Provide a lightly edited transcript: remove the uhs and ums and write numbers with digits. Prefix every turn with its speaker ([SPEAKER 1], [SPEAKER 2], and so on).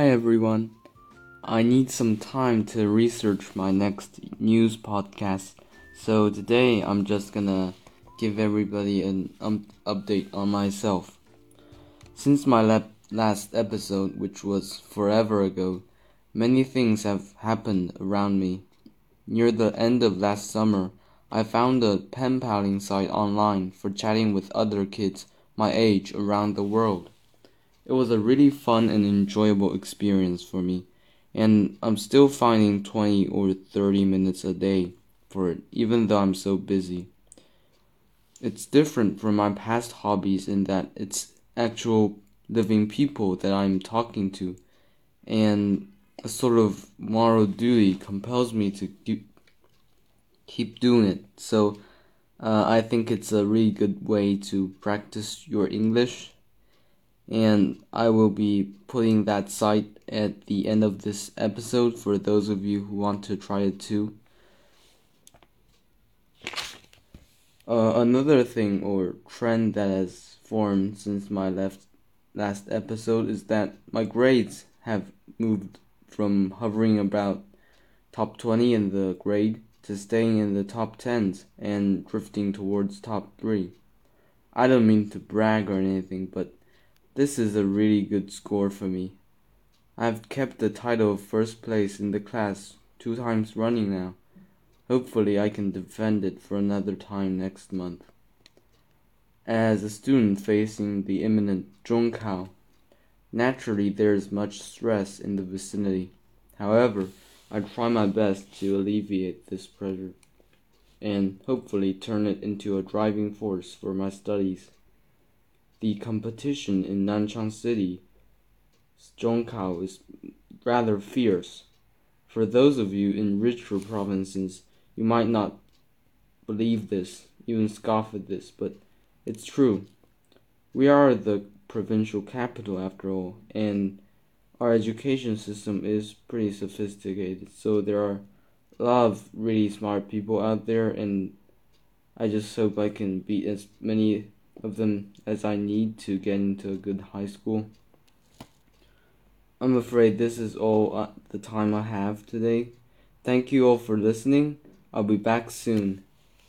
[SPEAKER 1] Hi everyone. I need some time to research my next news podcast, so today I'm just gonna give everybody an update on myself. Since my last episode, which was forever ago, many things have happened around me. Near the end of last summer, I found a pen paling site online for chatting with other kids my age around the world. It was a really fun and enjoyable experience for me, and I'm still finding 20 or 30 minutes a day for it, even though I'm so busy. It's different from my past hobbies in that it's actual living people that I'm talking to, and a sort of moral duty compels me to keep doing it. So I think it's a really good way to practice your English, and I will be putting that site at the end of this episode for those of you who want to try it too. Another thing or trend that has formed since my last episode is that my grades have moved from hovering about top 20 in the grade to staying in the top 10s and drifting towards top 3. I don't mean to brag or anything, but this is a really good score for me. I've kept the title of first place in the class 2 times running now. Hopefully I can defend it for another time next month. As a student facing the imminent Zhongkao, naturally there is much stress in the vicinity. However, I try my best to alleviate this pressure and hopefully turn it into a driving force for my studies. The competition in Nanchang City, Zhongkao, is rather fierce. For those of you in richer provinces, you might not believe this, even scoff at this, but it's true. We are the provincial capital after all, and our education system is pretty sophisticated, so there are a lot of really smart people out there, and I just hope I can beat as many of them as I need to get into a good high school. I'm afraid this is all the time I have today. Thank you all for listening. I'll be back soon.